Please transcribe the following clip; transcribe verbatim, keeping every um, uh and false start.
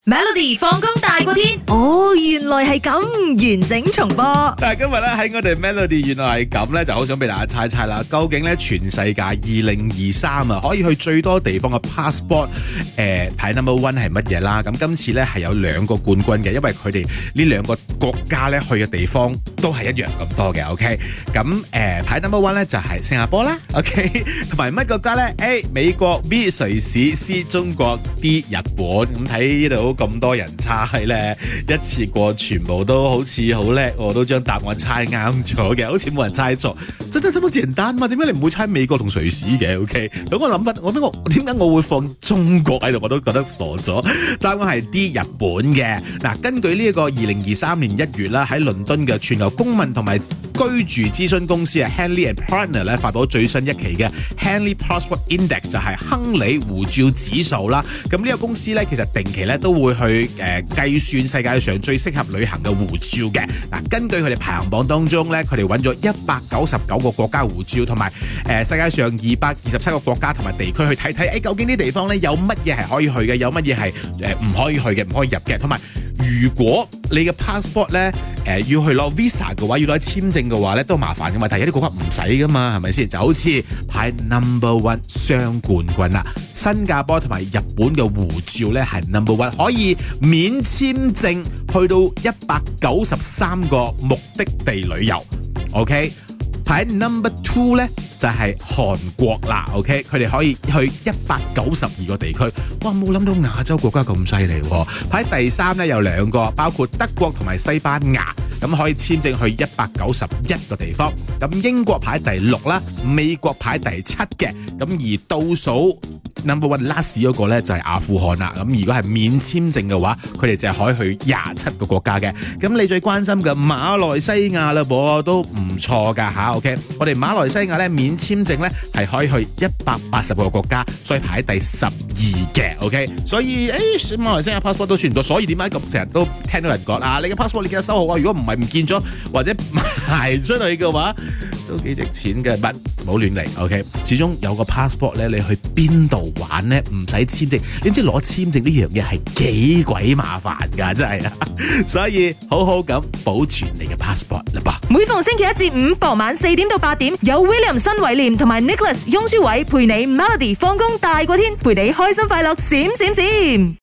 Melody 放工大過天， 哦，原來係咁，完整重播。 但係今日咧喺我哋 Melody 原來係咁咧，就好想俾大家猜猜啦。究竟咧全世界二零二三啊，可以去最多地方嘅 passport 誒排 number one 係乜嘢啦？咁今次咧係有兩個冠軍嘅，因為佢哋呢兩個國家咧去嘅地方都係一樣咁多嘅。OK，咁誒排 number one 咧就係新加坡啦。OK，同埋乜國家咧 ？A 美國 ，B 瑞士 ，C 中國，D 日本。咁睇呢度咁多人猜咧，一次過全部都好似好叻，我都將答案猜啱咗嘅，好似冇人猜錯。真係咁簡單嘛？點解你唔會猜美國同瑞士嘅 ？OK，等我諗翻，我我點解我會放中國喺度？我都覺得傻咗。答案係 D 日本嘅。嗱，根據呢一個二零二三年一月啦，喺倫敦嘅全球公民同埋居住諮詢公司啊 Henley and Partner 咧發佈最新一期嘅 Henley Passport Index 就係亨利護照指數啦。咁呢個公司咧其實定期咧都會去誒計算世界上最適合旅行嘅護照嘅。嗱，根據佢哋排行榜當中咧，佢哋揾咗一百九十九個國家護照，同埋誒世界上二百二十七個國家同埋地區去睇睇，誒究竟啲地方咧有乜嘢係可以去嘅，有乜嘢係誒唔可以去嘅，唔可以入嘅，同埋如果你嘅 passport 咧誒、呃、要去攞 visa 嘅話，要攞簽證嘅話咧都麻煩噶嘛，但係有啲國家唔使噶嘛，係咪先？就好似排 number one 雙冠軍啦，新加坡同埋日本嘅護照咧係 number one， 可以免簽證去到一百九十三個目的地旅遊。OK， 排 number two 咧就係、是、韓國啦。OK， 佢哋可以去一百九十二個地區。哇，冇諗到亞洲國家咁犀利喎！排第三咧有兩個，包括德國同埋西班牙，咁可以簽證去一百九十一個地方。咁英國排第六啦，美國排第七嘅。咁而倒數 number one last 嗰個咧就係阿富汗啦。咁如果係免簽證嘅話，佢哋就係可以去廿七個國家嘅。咁你最關心嘅馬來西亞啦，噃都唔錯㗎吓。OK， 我哋馬來西亞咧免簽證咧係可以去一百八十個國家，所以排喺第十二嘅。OK， 所以誒馬來西亞 passport 都算唔錯。所以點解咁成日都聽到人講啊？你嘅 passport 你記得收好啊！如果唔係唔見咗或者賣出去嘅話，都幾值錢嘅。唔唔好亂嚟。OK， 始終有個 passport 咧，你去邊度玩咧唔使簽證，你知攞簽證呢樣嘢係幾鬼麻煩㗎，真係啊！所以好好咁保存你嘅 passport 啦噃。 每逢星期一至五傍晚四點到八點，有 William 新偉廉同埋 Nicholas 雍舒偉陪你 Melody 放工大過天，陪你開心快樂閃閃閃。